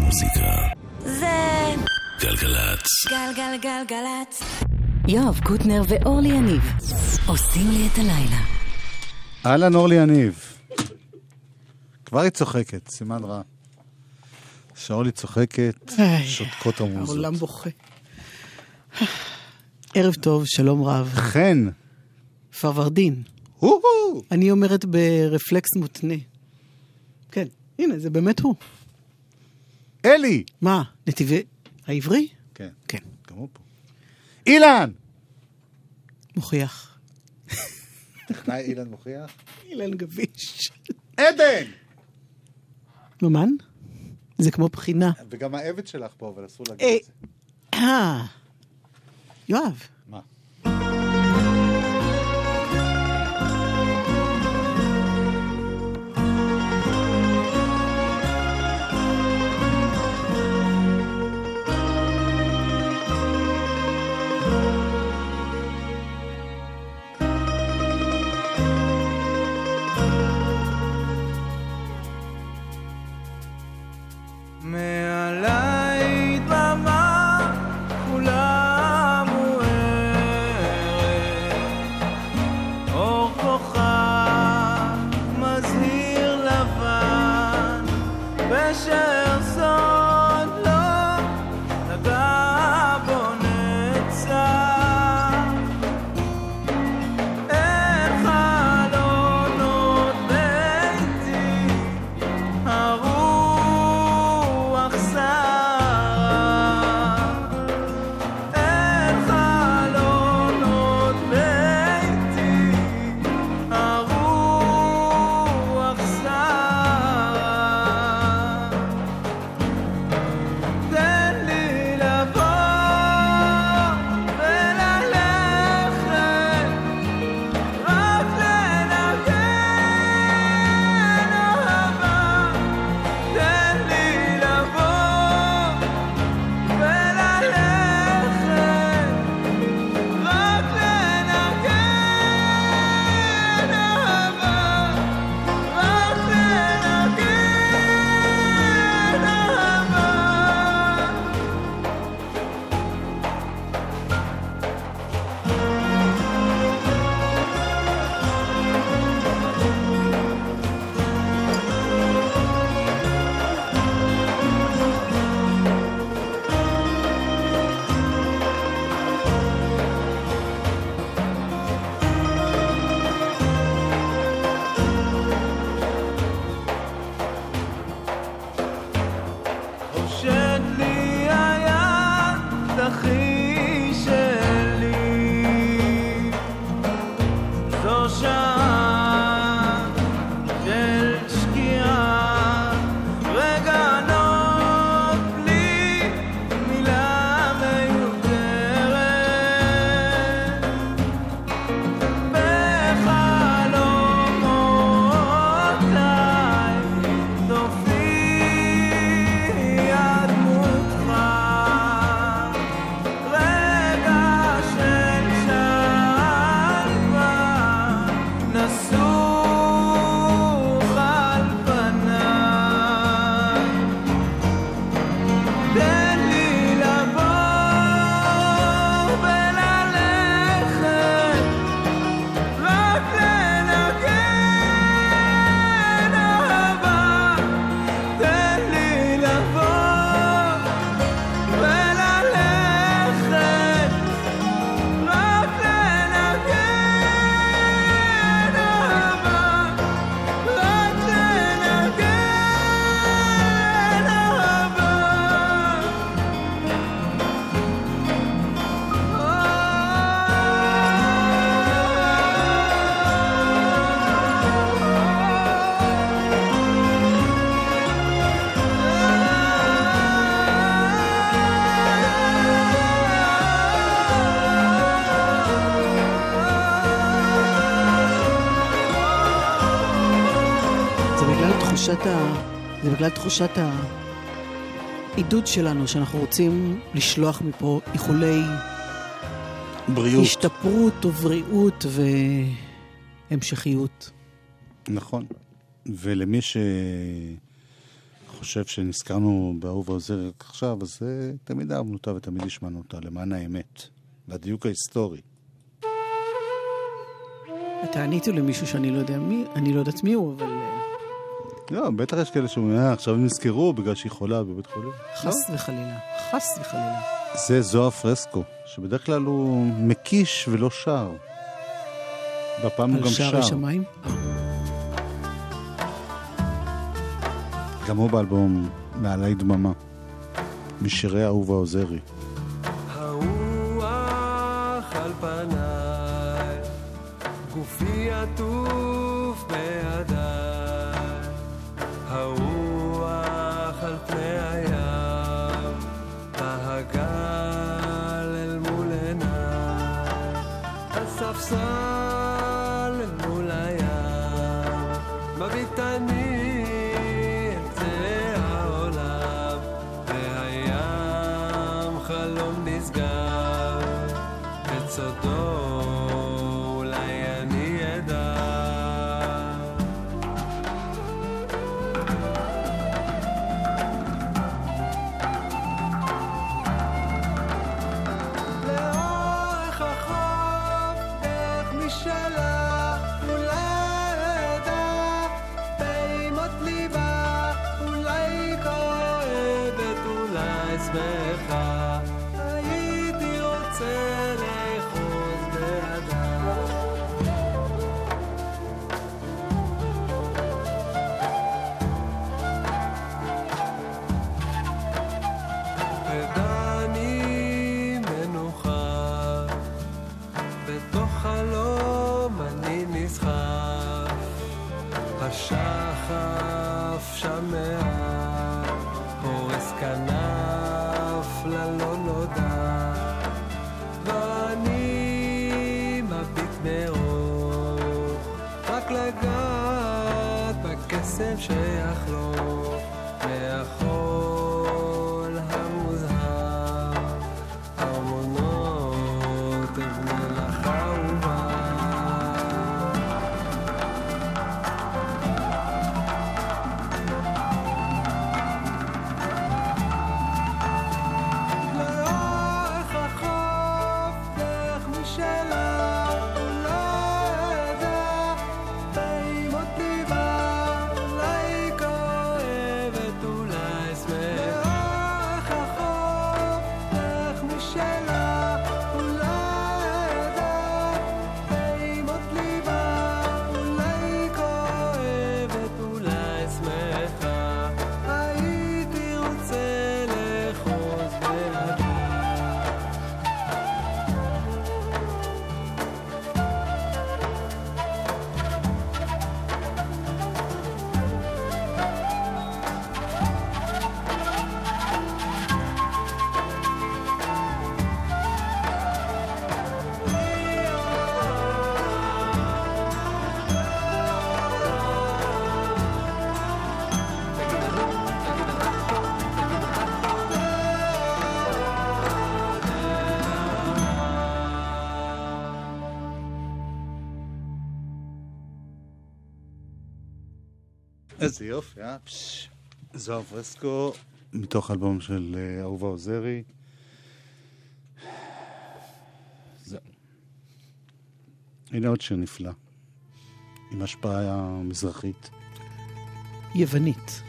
המוזיקה זה גלגלצ. גלגלגלגלצ. יואב קוטנר ואורלי יניב עושים לי את הלילה. אהלן אורלי יניב. כבר היא צוחקת, סימן רע. שאורלי צוחקת, שותקות המוזות. העולם בוכה. ערב טוב, שלום רב. חן. פרוורדין. הו-הו. אני אומרת ברפלקס מותנה. כן, הנה, זה באמת הוא. אלי. מה, נתיבי העברי? כן. כן. גם הוא פה. אילן. מוכיח. טכנאי אילן מוכיח. אילן גביש. עדן. ממן? זה כמו בחינה. וגם העבד שלך פה, אבל אסור להגיד את זה. יואב. מה? מעלי דממה כולה מוארת, אור כוכב מזהיר לבן, ושארסון לא נגע בו נצח. אל חלונות ביתי הרוח סערה, אל חלונות ביתי הרוח סערה. תן לי לבוא וללכת, רק לנגן אהבה. תן לי לבוא וללכת, רק לנגן אהבה, רק לנגן אהבה. הושט לי היד הכי שלי, זו שעה של שקיעה, רגע נוח בלי מילה מיותרת, בחלומותיי תופיע דמותך, רגע של שלווה נסוך על פניי. תן לי לבוא וללכת, רק לנגן אהבה. תן לי לבוא וללכת, רק לנגן אהבה, רק לנגן זה בגלל תחושת העידוד שלנו, שאנחנו רוצים לשלוח מפה איחולי בריאות. השתפרות ובריאות והמשכיות. נכון. ולמי חושב שנזכרנו באהובה עוזרי עכשיו, אז תמיד אהבנו אותה ותמיד השמענו אותה, למען האמת, והדיוק ההיסטורי. אתה עניתי למישהו שאני לא יודע מי, אני לא יודעת מי הוא, אבל... לא, בטח יש כאלה שאומרים, עכשיו הם נזכרו בגלל שהיא חולה בבית חולים. חס וחלילה, חס וחלילה. זה זוהר פרסקו, שבדרך כלל הוא מקיש ולא שר. בפעם הוא גם שר. על שערי שמיים? גם הוא באלבום מעלי דממה, משירי אהובה עוזרי. הרוח על פניי, גופי עטוף בידיי, הרוח על פני הים, בהגל אל מול עיניי, הספסל אל מול הים, מביט אני סודו, אולי אני אדע. לאורך החוף, איך משאלה, אולי אדע, פעימות ליבה, אולי כואבת, אולי שמחה. הייתי רוצה השחף שמע, פורס כנף ללא נודע, ואני מביט מאור, רק לגעת בקסם שיחלוף, מהחול המוזהר, ארמונות אבני לך אהובה. איזה יופי, זוהר פרסקו, מתוך אלבום של אהובה עוזרי. זהו. הנה עוד שיר נפלא, עם השפעה מזרחית. יוונית.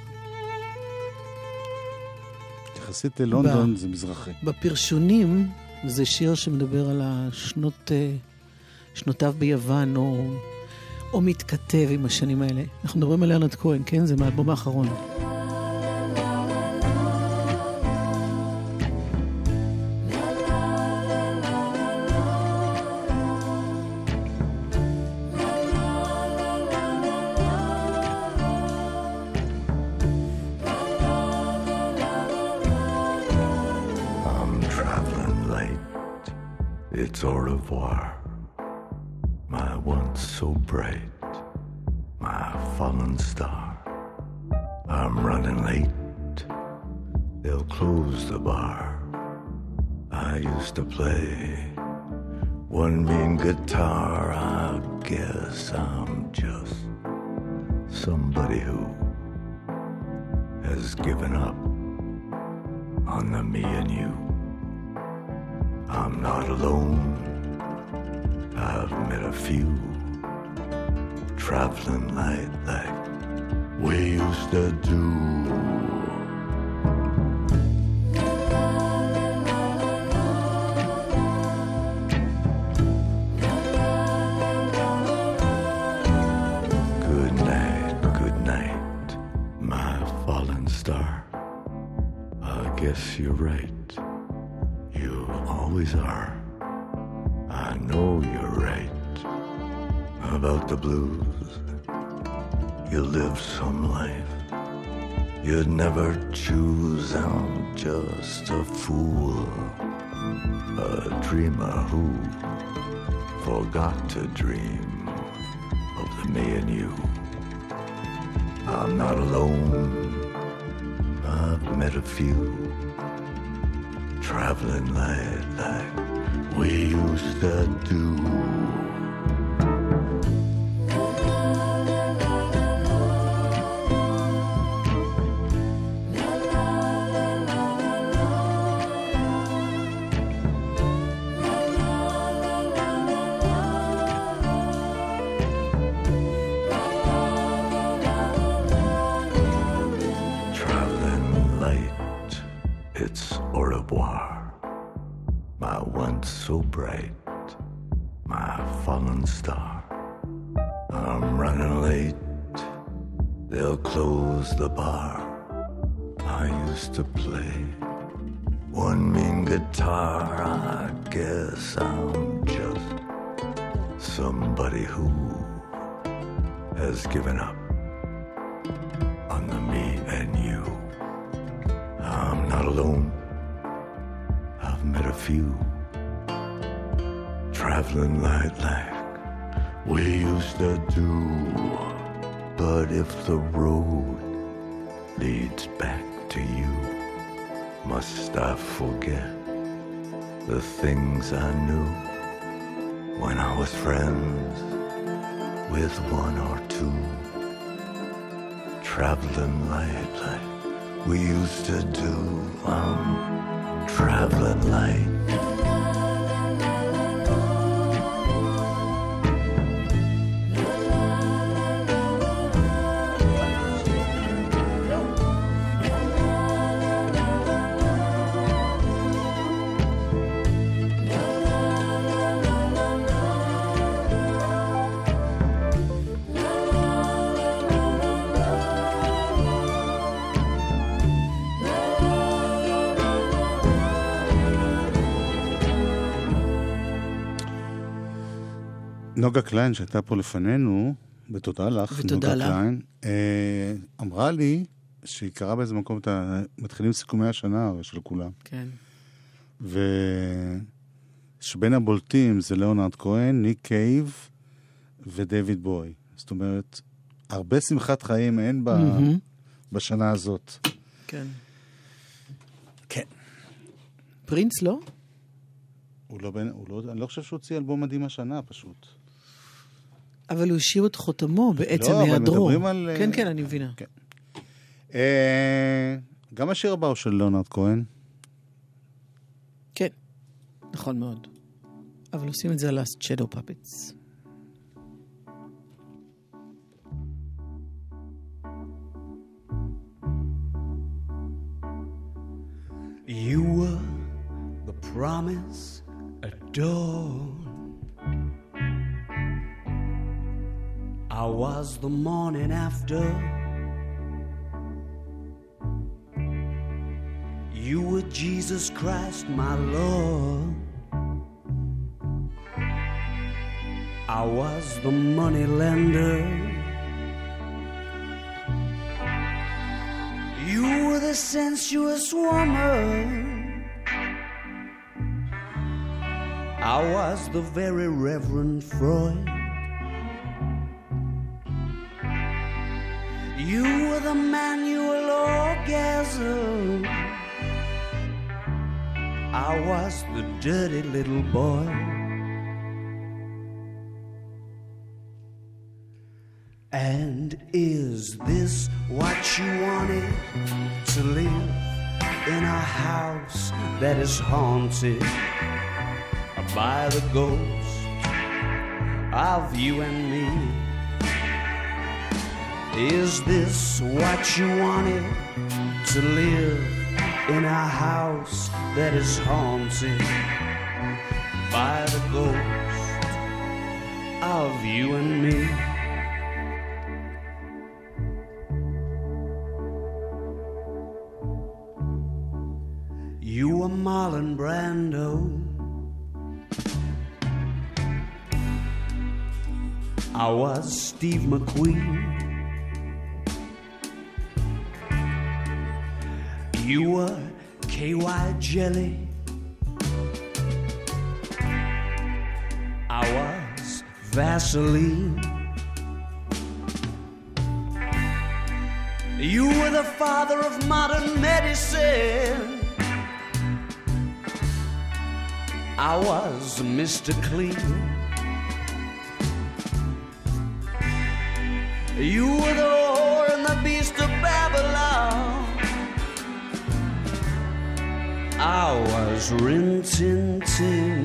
יחסית ללונדון זה מזרחי. בפרשונים זה שיר שמדבר על שנותיו ביוון, או מתכתב עם השנים האלה. אנחנו מדברים על לרנרד כהן, כן? זה מהאלבום האחרון. I'm traveling late. It's au revoir. My once so bright, my fallen star. I'm running late, they'll close the bar. I used to play one mean guitar. I guess I'm just somebody who has given up on the me and you. I'm not alone. I've met a few traveling light like we used to do. Good night, my fallen star. I guess you're right. You always are. I know you're right about the blues. You live some life you'd never choose. I'm just a fool, a dreamer who forgot to dream of the me and you. I'm not alone. I've met a few traveling light like we used to do. So bright, my fallen star. I'm running late, they'll close the bar. I used to play one mean guitar. I guess I'm just somebody who has given up on the me and you. I'm not alone. I've met a few traveling light like we used to do. But if the road leads back to you, must I forget the things I knew when I was friends with one or two? Traveling light like we used to do. I'm traveling light. נוגה קליין שהייתה פה לפנינו, ותודה לך, נוגה קליין, אמרה לי שהיא קראה באיזה מקום, מתחילים סיכומי השנה של כולם. כן. ושבין הבולטים זה ליאונרד כהן, ניק קייב ודייוויד בוי. זאת אומרת, הרבה שמחת חיים אין בשנה הזאת. כן. כן. פרינס לא? אני לא חושב שהוא הוציא אלבום מדהים השנה פשוט. אבל הוא השאיר את חותמו בעצם לא, מהדרור. אבל מדברים על... כן, כן, אני מבינה. כן. גם השיר הבא הוא של ליאונרד כהן. כן, נכון מאוד. אבל עושים את זה על Last Shadow Puppets. You were the promise adored. I was the morning after. You were Jesus Christ, my Lord. I was the money lender. You were the sensuous woman. I was the very Reverend Freud. You were the manual orgasm. I was the dirty little boy. And is this what you wanted? To live in a house that is haunted by the ghost of you and me? Is this what you wanted? To live in a house that is haunted by the ghost of you and me? You were Marlon Brando, I was Steve McQueen. You were KY Jelly, I was Vaseline. You were the father of modern medicine, I was Mr. Clean. You were the whore and the beast of Babylon, I was Rin Tin Tin.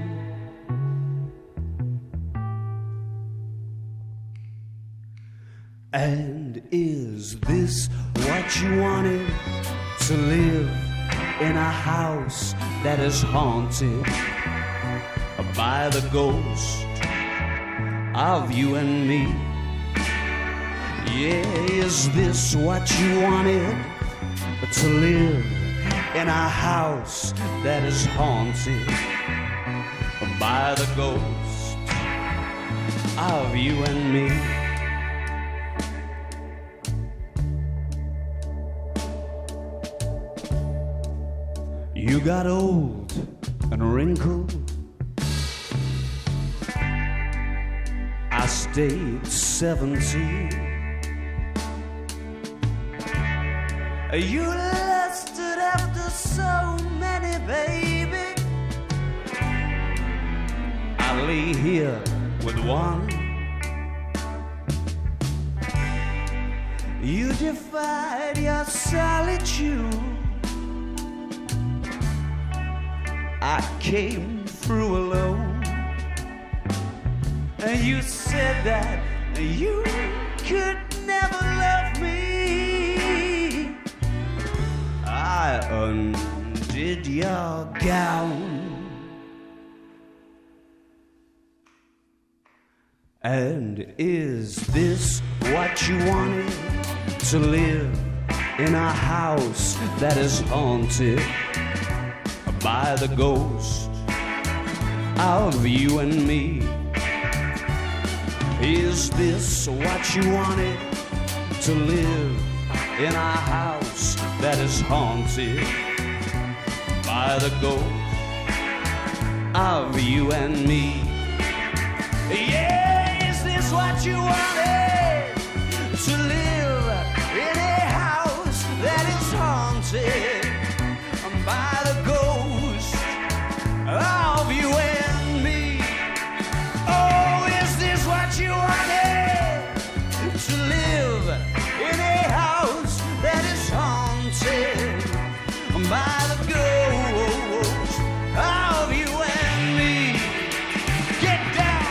And is this what you wanted? To live in a house that is haunted by the ghost of you and me? Yeah, is this what you wanted? To live in a house that is haunted by the ghost of you and me? You got old and wrinkled, I stayed 17. You lusted after so many, baby. I lay here with one. You defied your solitude, I came through alone. And you said that you could never love me. I undid your gown, and is this what you wanted? To live in a house that is haunted by the ghost of you and me? Is this what you wanted? To live in a house that is haunted by the ghost of you and me? Yeah, is this what you wanted? To live in a house that is haunted by the ghost of you and me? Oh, is this what you wanted? To live in a house that is haunted by the ghost of you and me? Get down!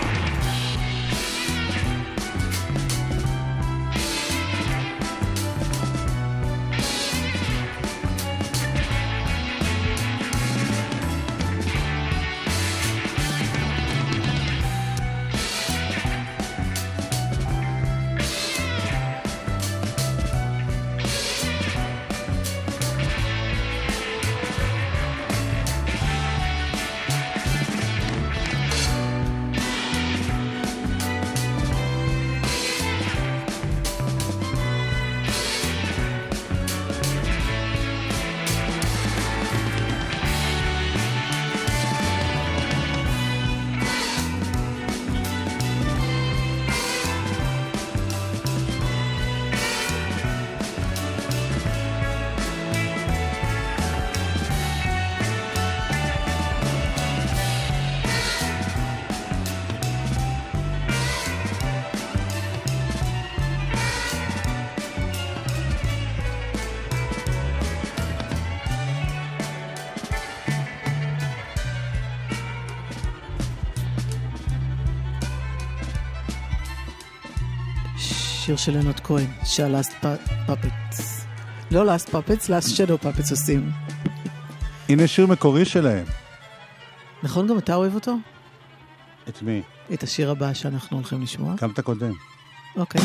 שיר של לנרד כהן, שה-Last Puppets. לא Last Puppets, Last Shadow Puppets עושים. הנה שיר מקורי שלהם. נכון, גם אתה אוהב אותו? את מי? את השיר הבא שאנחנו הולכים לשמוע. כמה אתה קודם. אוקיי.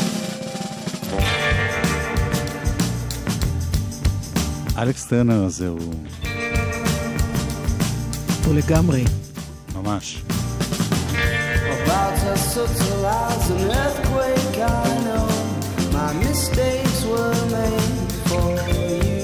אלכס טרנר הזה הוא... הוא לגמרי. ממש. About to subtilize an earthquake, I know my mistakes were made for you.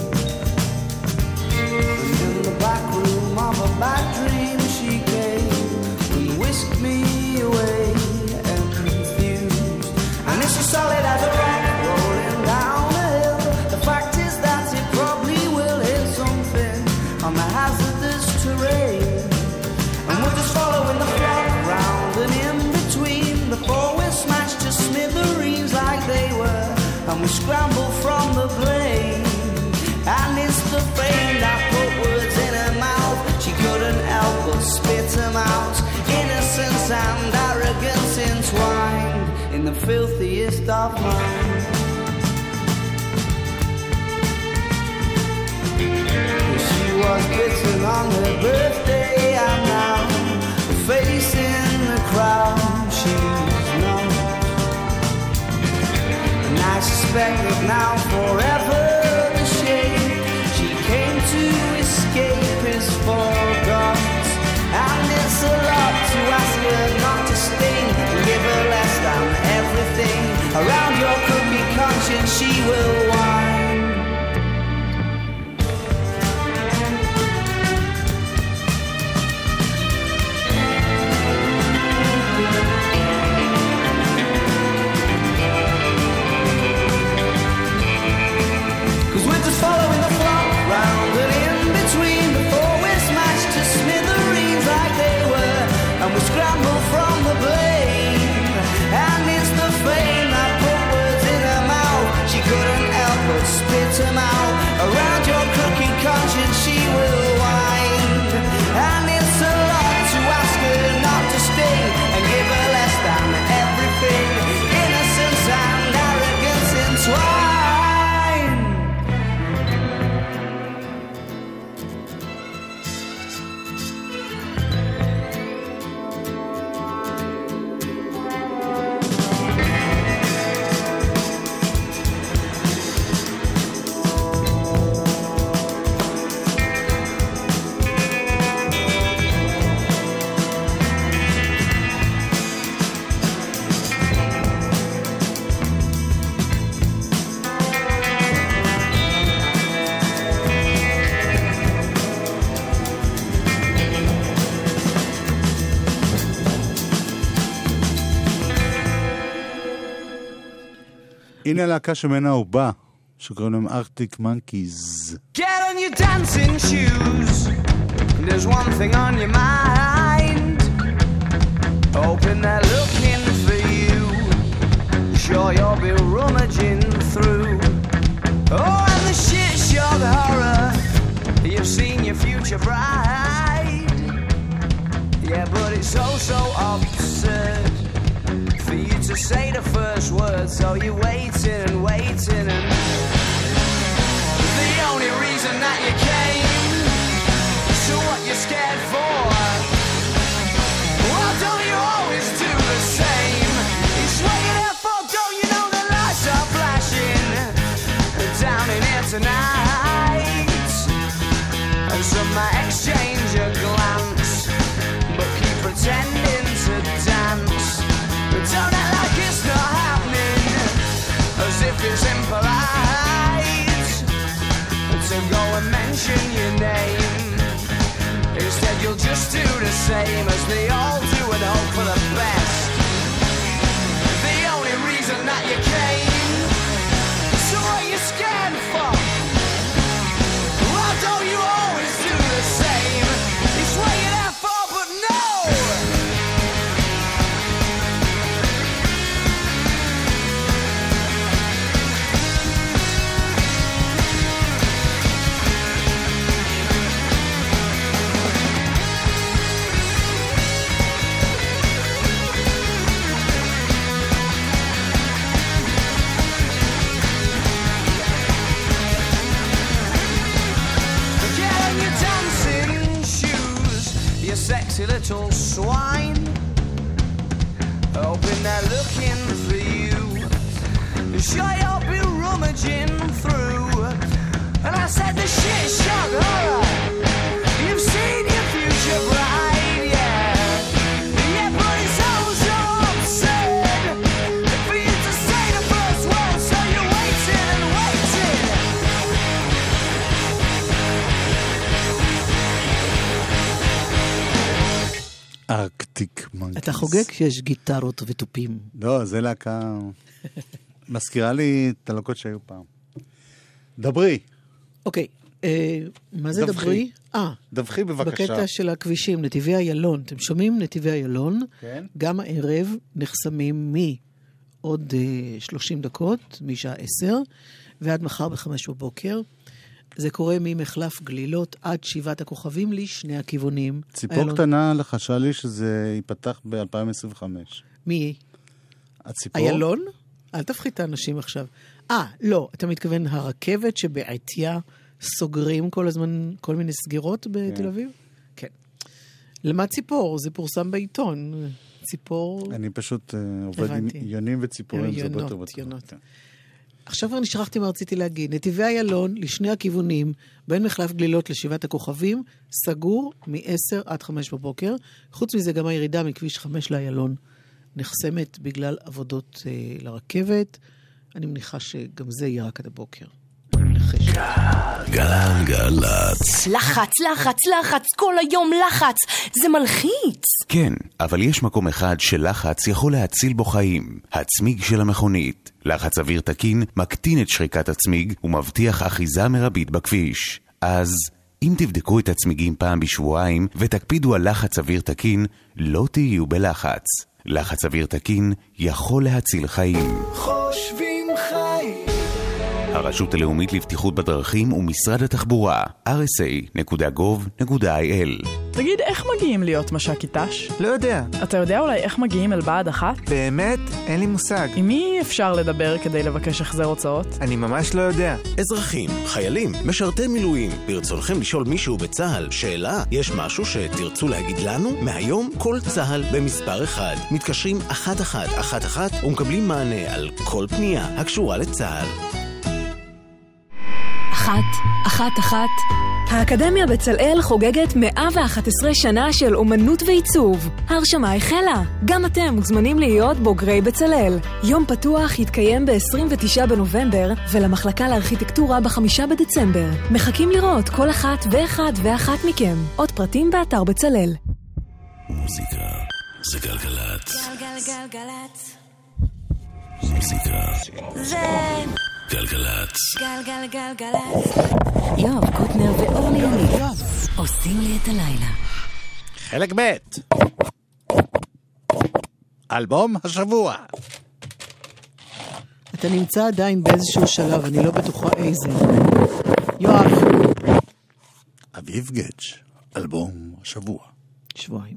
And in the back room of a bad dream, she came and whisked me away and confused. And it's as solid as a rock rolling down a hill. The fact is that it probably will hit something on the hazardous terrain. And we're just following the flock round and in between before we're smashed to smithereens like they were. And we scramble from the blame. And it's the fame that put words in her mouth. She couldn't help but spit them out. Innocence and arrogance entwined in the filthiest of minds. She was bitten on her birthday, and now the face in the crowd she's not. And I suspect that now forever the shame she came to escape is forgot. And it's a lot to ask her not to sting and give her less than everything. Around your crooked conscience she will whine. Following the flock round and in between before we're smashed to smithereens like they were, and we scramble from the blame. And it's the fame that put words in her mouth. She couldn't help but spit them out. Around your crooked conscience she will wind. And it's a lot to ask her not to sting and give her less than everything. Innocence and arrogance entwined. הנה הלהקה שמנה הוא בא, שקוראים להם ארקטיק מנקיז. Get on your dancing shoes. There's one thing on your mind. Hoping they're looking for you. Sure you'll be rummaging through. Oh, and the shit show the horror. You've seen your future bride. Yeah, but it's so absurd for you to say the first word, so you're waiting and waiting, and the only reason that you came, so what you're scared for? Well, don't you always do the same? It's what you're there for, don't you know the lights are flashing down in here tonight? And some might exchange a glance, but keep pretending to dance. Don't act like it's not happening, as if it's impolite to go and mention your name. Instead you'll just do the same as they all do and hope for the best. The only reason that you came, so what are you scared for? Why don't you always do the same? It's what you're there for, but no! dirty little swine, hoping they're looking for you. Sure, you'll be rummaging through. And I said the shit shock horror. You've seen your future bright, yeah. Yeah, but it's all so absurd for you to say the first word, so you're waiting and waiting. ארקטיק מנקיז. אתה חוגג שיש גיטרות וטופים. לא, זה להקה... מזכירה לי את הלהקות שהיו פעם. דברי. אוקיי, מה זה דברי? דווחי בבקשה. בקטע של הכבישים, נתיבי איילון. אתם שומעים נתיבי איילון? כן. גם הערב נחסמים מעוד 30 דקות, משעה 10, ועד מחר ב-5 בבוקר. זה קורה ממחלף גלילות עד 7 הכוכבים לשני הכיוונים. ציפור קטנה לחשה לי שזה ייפתח ב-2025. מי? הציפור? איילון? אל תפחית את האנשים עכשיו. לא, אתה מתכוון הרכבת שבעתיה סוגרים כל הזמן כל מיני סגירות בתל אביב? כן. למה ציפור? זה פורסם בעיתון. ציפור... אני פשוט עובד עם יונים וציפורים. יונות. עכשיו כבר נשכחתי מה רציתי להגיד. נתיבי איילון לשני הכיוונים, בין מחלף גלילות לשבעת הכוכבים, סגור מ-10 עד 5 בבוקר. חוץ מזה גם הירידה מכביש 5 לאיילון נחסמת בגלל עבודות לרכבת. אני מניחה שגם זה יהיה רק עד הבוקר. גלגלצ. לחץ, לחץ, לחץ, כל היום לחץ. זה מלחיץ. כן, אבל יש מקום אחד שלחץ יכול להציל בו חיים. הצמיג של המכונית. לחץ אוויר תקין מקטין את שריקת הצמיג ומבטיח אחיזה מרבית בכביש. אז אם תבדקו את הצמיגים פעם בשבועיים ותקפידו על לחץ אוויר תקין, לא תהיו בלחץ. לחץ אוויר תקין יכול להציל חיים. חושבים חיים. הרשות הלאומית לבטיחות בדרכים ומשרד התחבורה, rsa.gov.il. תגיד, איך מגיעים להיות מש"קית ת"ש? לא יודע. אתה יודע אולי איך מגיעים אל בעד אחת? באמת? אין לי מושג. עם מי אפשר לדבר כדי לבקש החזר הוצאות? אני ממש לא יודע. אזרחים, חיילים, משרתי מילואים, ברצונכם לשאול מישהו בצהל שאלה, יש משהו שתרצו להגיד לנו? מהיום כל צהל במספר אחד. מתקשרים 1111 ומקבלים מענה על כל פנייה הקשורה לצהל. 111. האקדמיה בצלאל חוגגת 111 שנה של אומנות ועיצוב. ההרשמה החלה. גם אתם מוזמנים להיות בוגרי בצלאל. יום פתוח יתקיים ב-29 בנובמבר ולמחלקה לארכיטקטורה ב5 בדצמבר. מחכים לראות כל אחת ואחד ואחת מכם. עוד פרטים באתר בצלאל. מוזיקה זה גלגלצ. גלגלגלגלצ. מוזיקה זה גלגלצ. גלגלגלגלצ. יואב קוטנר ואורלי יניב עושים לי את הלילה. חלק ב' אלבום השבוע. אתה נמצא עדיין באיזשהו שלב, אני לא בטוחה איזה. יואב. אביב גדג', אלבום השבוע. שבועיים.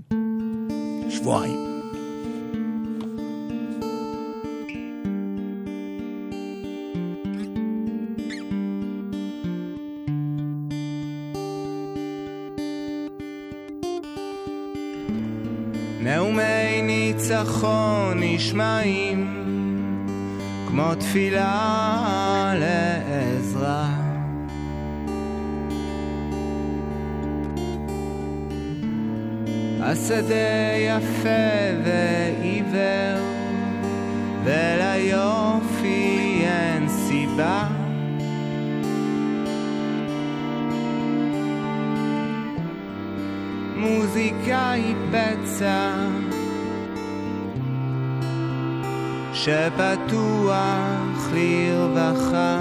נאומי ניצחון נשמעים כמו תפילה לעזרה. השדה יפה ועיוור וליופי אין סיבה. מוזיקה היא פצע שפתוח לרווחה.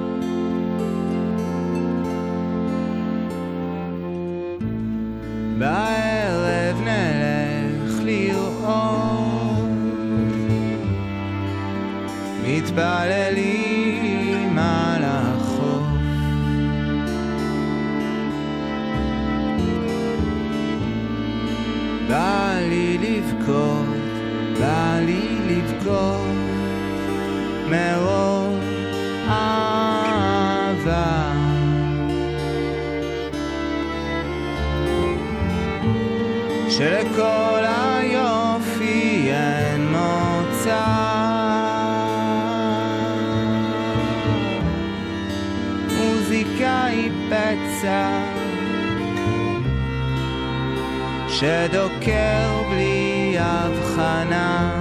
בערב נלך לראות מתפללים על החוף. בא לי לבכות, בא לי לבכות מרוב אהבה. שלכל היופי אין מוצא. מוזיקה היא פצע שדוקר בלי הבחנה.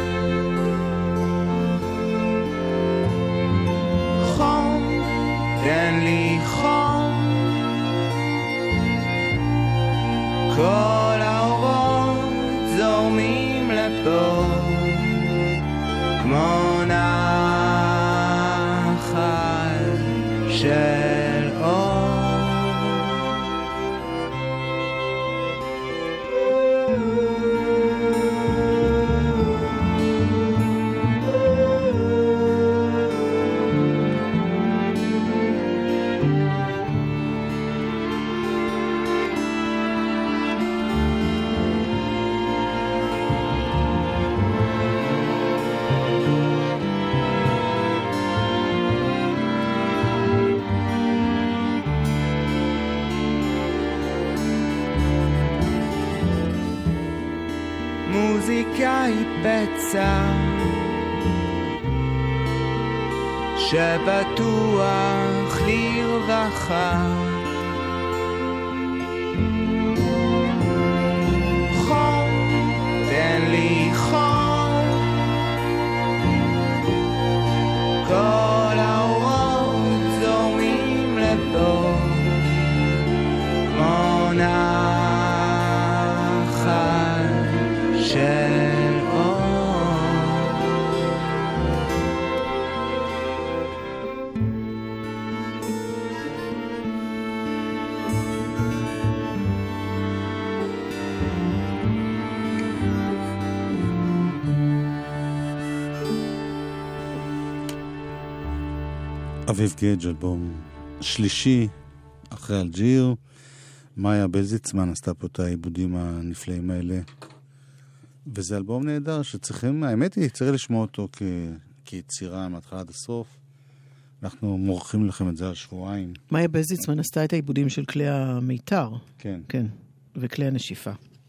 חום, תן לי חום, כל האורות זורמים לפה כמו נחל של אור. מוזיקה היא פצע שבטוח לרווחה. חום, תן לי חום, כל האורות זורמים לפה כמו נחל של אור. אביב גדג', אלבום שלישי אחרי אלג'יר. מאיה בלזיצמן עשתה פה את העיבודים הנפלאים האלה, וזה אלבום נהדר שצריכים, האמת היא, צריך לשמוע אותו כיצירה מההתחלה עד הסוף. אנחנו מורחים לכם את זה על שבועיים. מאיה בלזיצמן עשתה את העיבודים של כלי המיתר. כן. כן, וכלי הנשיפה.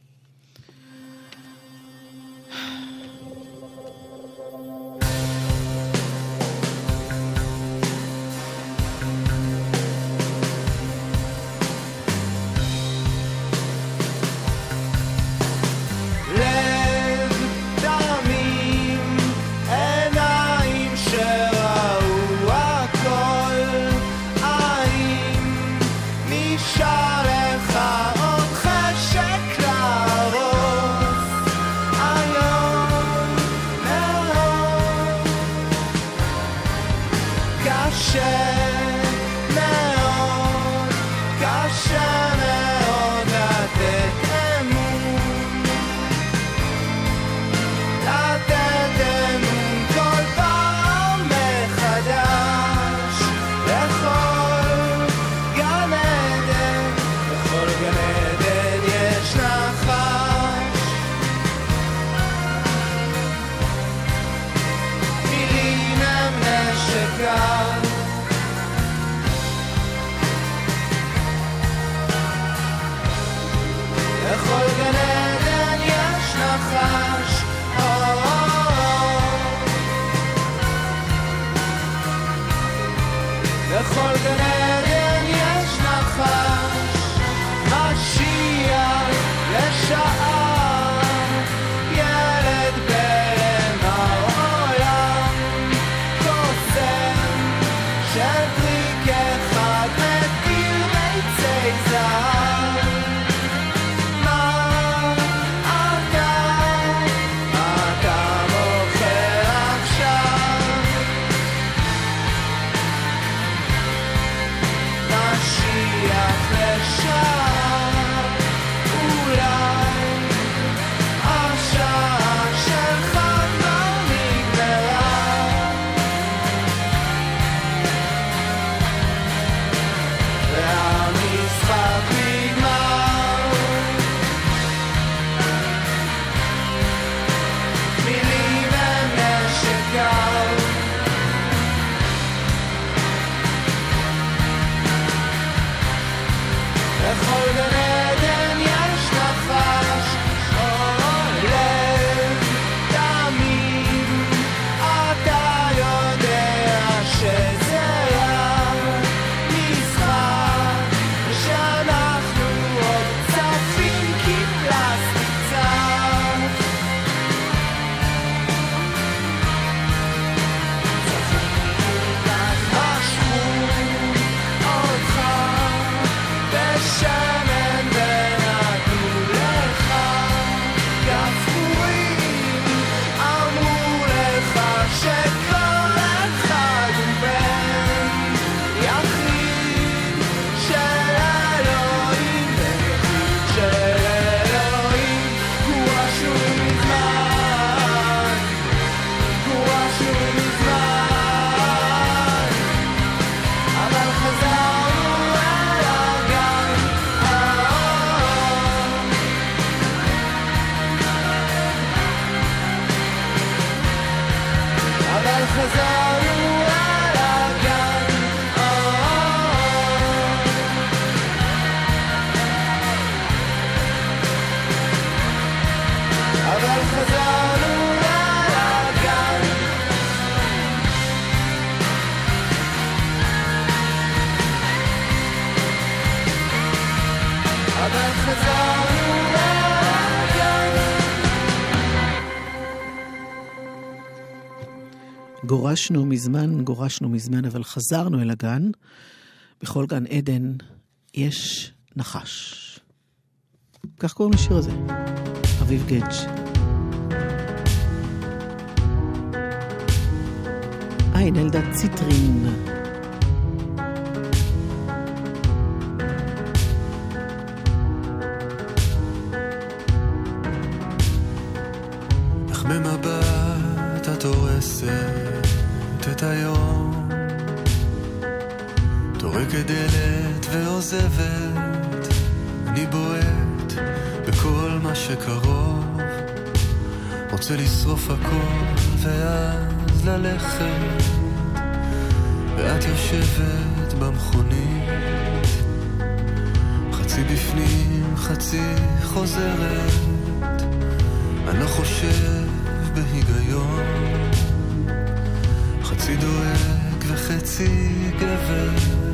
בכל גן עדן יש נחש, משיח לשעה, ילד בלם העולם, קוסם של טריק אחד מתיר ביצי זהב. מה אתה מוכר עכשיו? משיח לשעה, אולי השעה שלך כבר נגמרה. והמשחק נגמר, מילים הם נשק קר. בכל גן עדן יש נחש, אבל חזרנו לגן. גורשנו מזמן, אבל חזרנו אל הגן. בכל גן עדן יש נחש. כך קוראים לשיר הזה. אביב גדג'. אלדד ציטרין. איך במבט את הורסת את היום, טורקת דלת ועוזבת, אני בועט בכל מה שקרוב, רוצה לשרוף הכל ואז ללכת, ואת יושבת במכונית, חצי בפנים חצי חוזרת, אני לא חושב בהיגיון, חצי דואג וחצי גבר.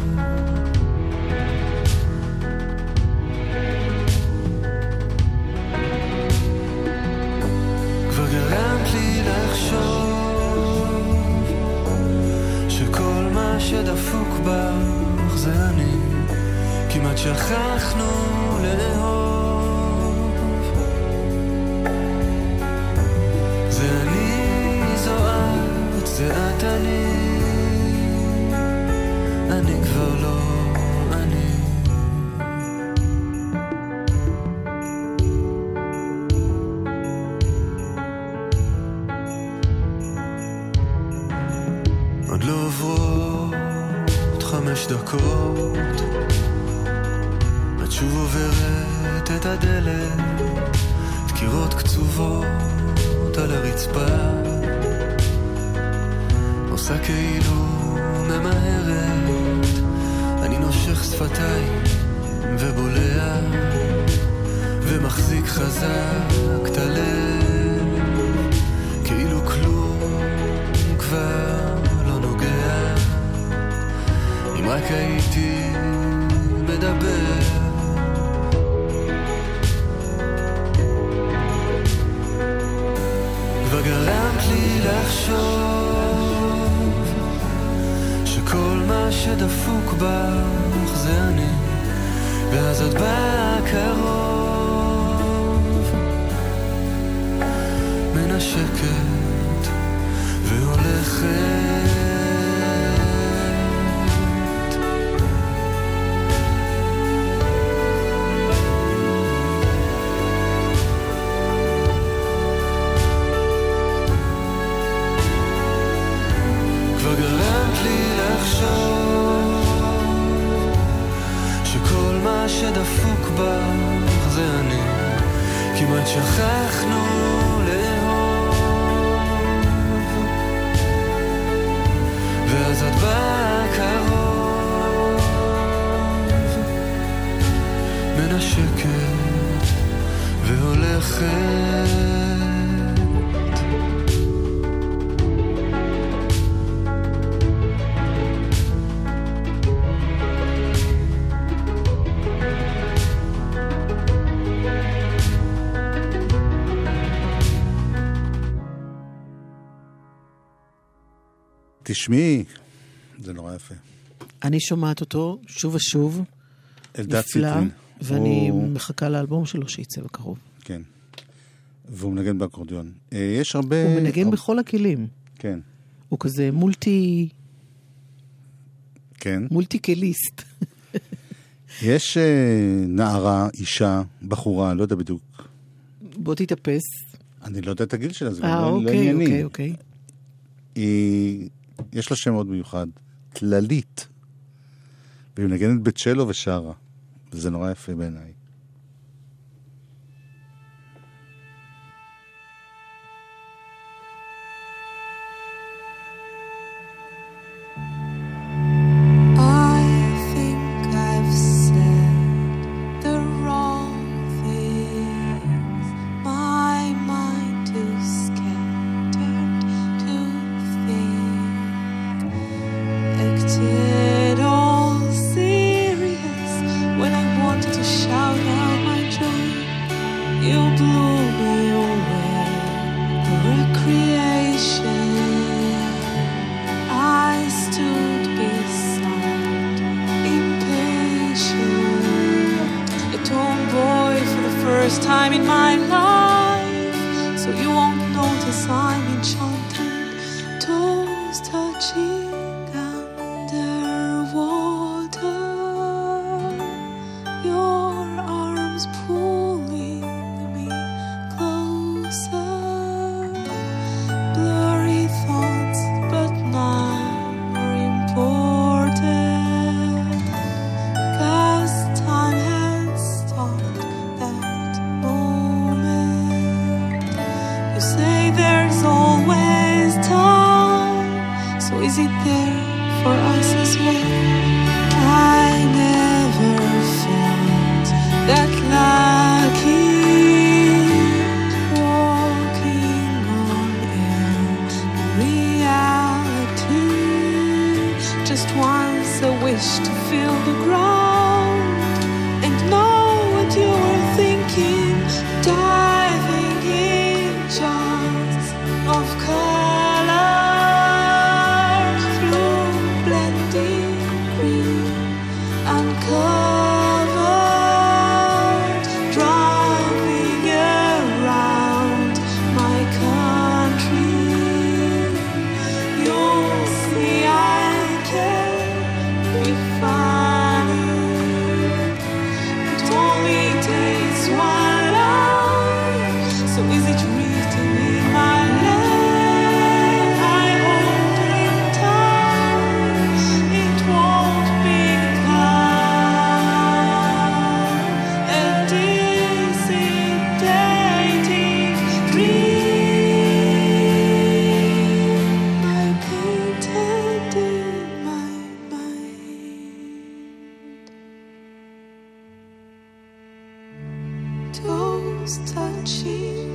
כבר גרמת לי לחשוב שכל מה שדפוק בך זה אני, כמעט שכחנו לאהוב, זה אני, זו את, זה את אני כבר לא אני. עוד לא עוברות 5 דקות, את שוב עוברת את הדלת, דקירות קצובות על הרצפה, עושה כאילו ממהרת, אני נושך שפתיים ובולע ומחזיק חזק את הלב, כאילו כלום כבר לא נוגע, אם רק הייתי מדבר. כבר גרמת לי לחשוב שכל מה שדפוק בך זה אני, ואז את באה קרוב, מנשקת והולכת, כבר גרמת לי לחשוב שכל מה שדפוק בך זה אני, כמעט שכחנו לאהוב, ואז את באה קרוב, מנשקת והולכת. תשמעי, זה נורא יפה. אני שומעת אותו שוב ושוב. אלדד ציטרין. ואני מחכה לאלבום שלו שיצא בקרוב. כן. והוא מנגן באקורדיון. יש הרבה... הוא מנגן בכל הכלים. כן. הוא כזה מולטי... כן. מולטי קליסט. יש נערה, אישה, בחורה, לא יודע בדיוק. בוא תתאפס. אני לא יודע את הגיל שלה, זה לא ענייני. אוקיי. יש לה שם מאוד מיוחד, תללית, והיא מנגנת בצ'לו ושרה, וזה נורא יפה בעיניי. Acted all serious when I wanted to shout first time in my life, so you won't notice I'm enchanted. Toes touching underwater, your arms pulling me closer. Blurry thoughts, but never important, 'cause time has stopped that moment. You say there's always time, so is it there for us as well? I never felt that lucky, walking on air in reality. Just once a wish to feel the ground and know what you were thinking, diving in jars of color, through blending green, uncovered, driving around my country. You'll see I can be funny. It only takes one life, so is it written in my life? I hope in time it won't become a dissipating dream I painted in my mind. Toes touching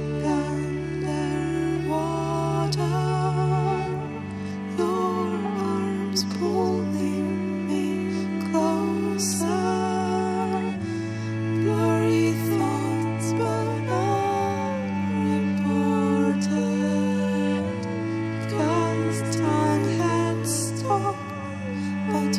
underwater, your arms pulling me closer. Blurry thoughts, but unimportant, 'cause time had stopped that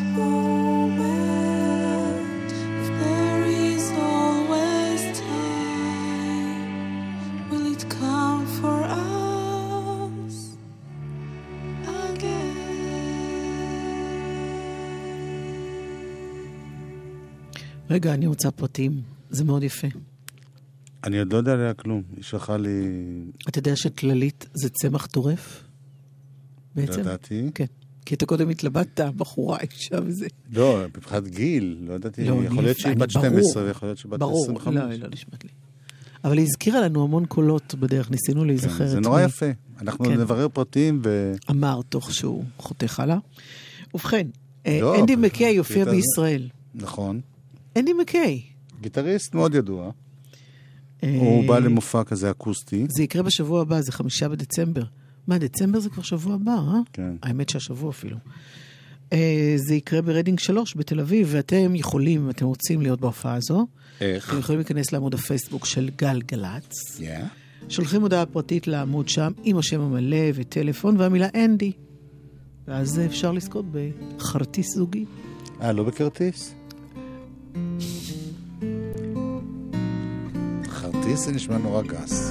moment. If there is always time, will it come for us again? רגע, אני רוצה פרטים. זה מאוד יפה. אני עוד לא יודע עליה כלום. היא שלחה לי... אתה יודע שכללית זה צמח טורף? בעצם? לדעתי. כן. כי אתה קודם התלבטת, בחורה, אישה וזה. לא, מבחינת גיל, לא ידעתי. יכול להיות שהיא בת 12, ויכול להיות שהיא בת 25. ברור, לא נשמעת לי. אבל היא הזכירה לנו המון קולות בדרך, ניסינו להיזכר. זה נורא יפה. אנחנו נברר פרטים ו... אמר תוך שהוא חותך הלאה. ובכן, אנדי מקיי יופיע בישראל. נכון. אנדי מקיי. גיטריסט מאוד ידוע. הוא בא למופע כזה אקוסטי. זה יקרה בשבוע הבא, זה 5 בדצמבר. מה, דצמבר זה כבר שבוע הבא, אה? כן. האמת שהשבוע אפילו. זה יקרה ברדינג 3 בתל אביב, ואתם יכולים, אם אתם רוצים להיות בהופעה הזו, איך? אתם יכולים להיכנס לעמוד הפייסבוק של גל גלץ. Yeah. שולחים הודעה פרטית לעמוד שם, עם השם המלא וטלפון, והמילה אנדי. ואז אפשר לזכות בחרטיס זוגי. לא בכרטיס? חרטיס זה נשמע נורא גס.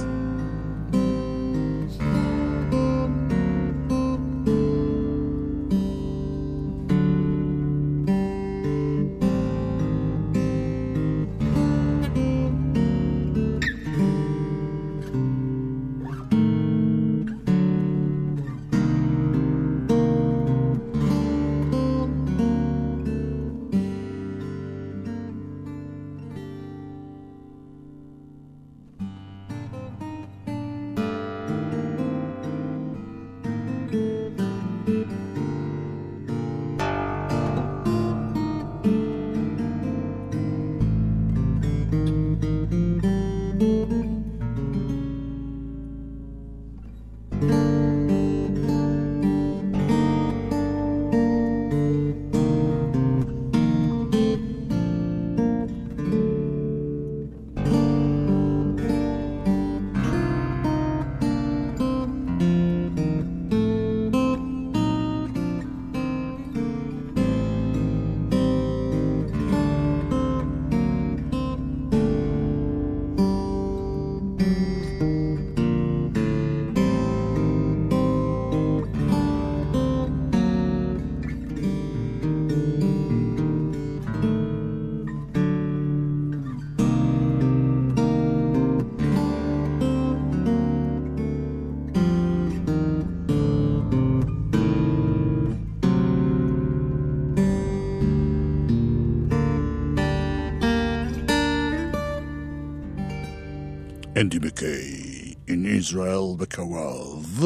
אנדי מקיי, in Israel בקרוב.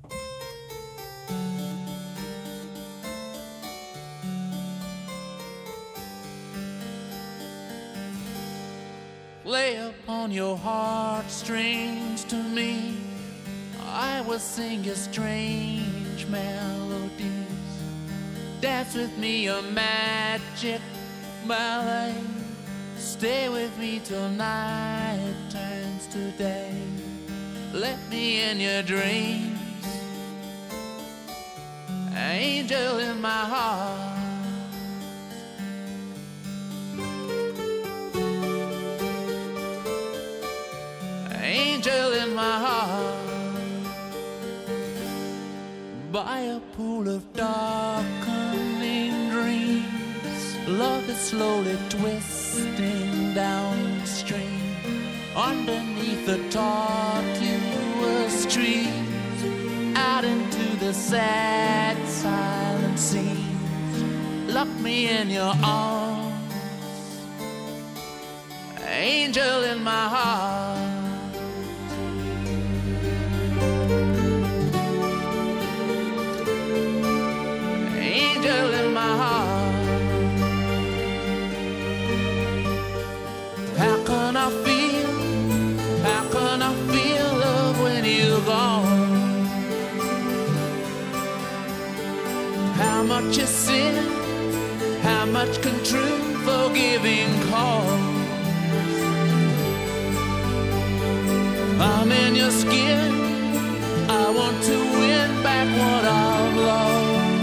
Lay upon your heartstrings to me, I will sing you strange melodies. Dance with me a magic ballet. Stay with me till night turns to day. Let me in your dreams, angel in my heart. Angel in my heart. By a pool of darkening dreams, love is slowly twisting downstream. Underneath the tortuous trees, out into the sad silent scenes. Lock me in your arms, angel in my heart. Angel in my heart. How can I feel love when you're gone? How much is sin, how much can true forgiving cause? I'm in your skin, I want to win back what I've lost.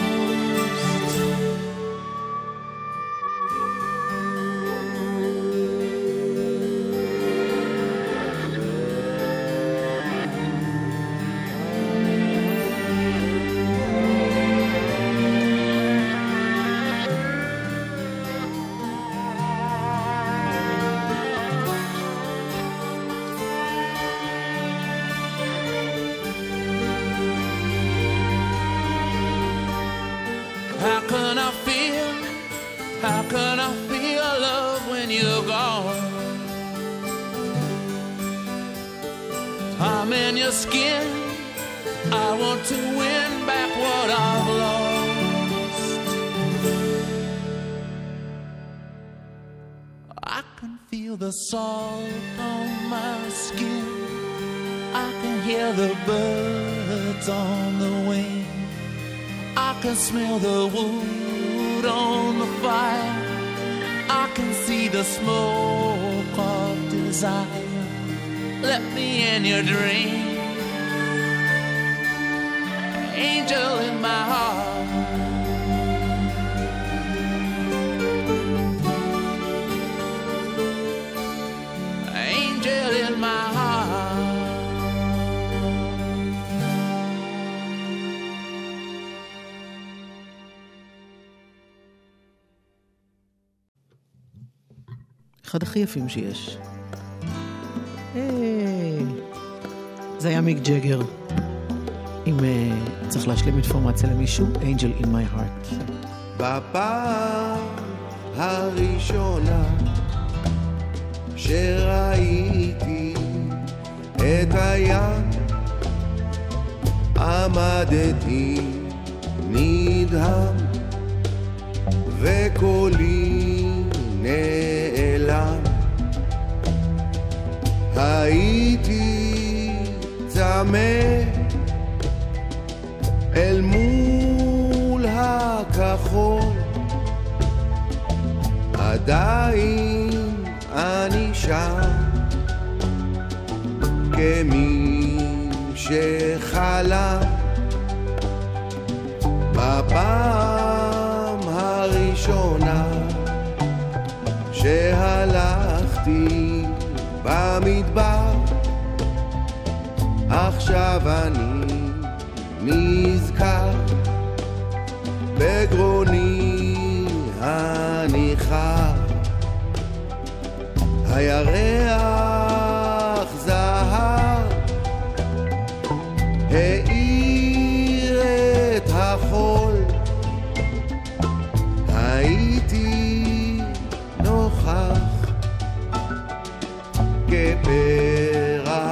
How can I feel love when you're gone? I'm in your skin, I want to win back what I've lost. I can feel the salt on my skin, I can hear the birds on the wing, I can smell the wood on the fire, I can see the smoke of desire. Let me in your dream, angel in my heart. Angel in my heart. אחד הכי יפים שיש. זה היה מיק ג'גר. אם צריך להשלים אינפורמציה למישהו, Angel in my heart. בפעם הראשונה שראיתי את הים, עמדתי נדהם וקולי נעלם. הייתי צמא אל מול הכחול, עדיין אני שם כמי שחלם. בפעם הראשונה שהלכתי במדבר, עכשיו אני נזכר בגרוני הניחר. הירח זהב האיר את החול, הייתי נוכח כפרח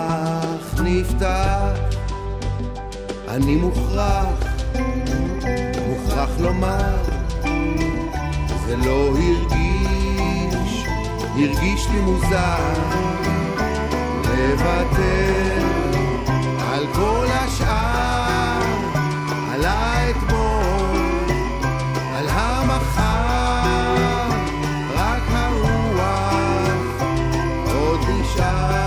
אני מוכרח לומר, זה לא הרגיש לי מוזר לוותר על כל השאר, על האתמול, על המחר, רק הרוח עוד נשאר.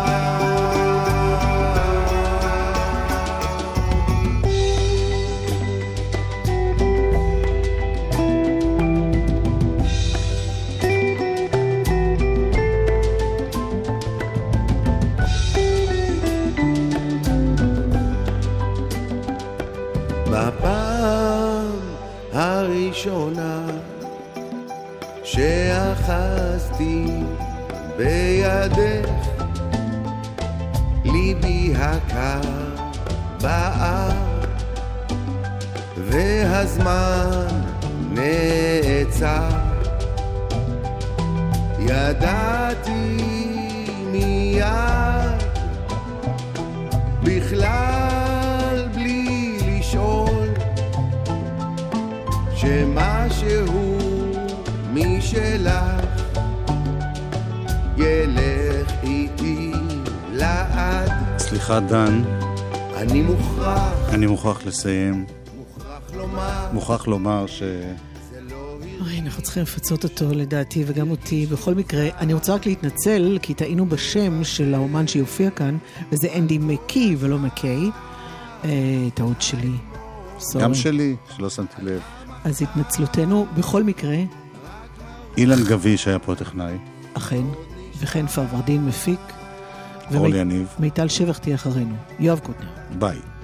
בפעם הראשונה שאחזתי בידך, ליבי הקר בער והזמן נעצר. ידעתי מיד בכלל בלי לשאול שמשהו משלך ילך איתי לעד. סליחה דן, אני מוכרח לסיים. מוכרח לומר ש... אנחנו צריכים לפצות אותו לדעתי וגם אותי. בכל מקרה, אני רוצה רק להתנצל כי טעינו בשם של האומן שיופיע כאן, וזה אנדי מקי ולא מקיי. טעות שלי. גם שלי, שלא שמתי לב. אז התנצלותנו. בכל מקרה, אילן גביש היה פה טכנאי. אכן, וכן פרוורדין מפיק. אורלי יניב. מיטל שבח תהיה אחרינו. יואב קוטנר. ביי.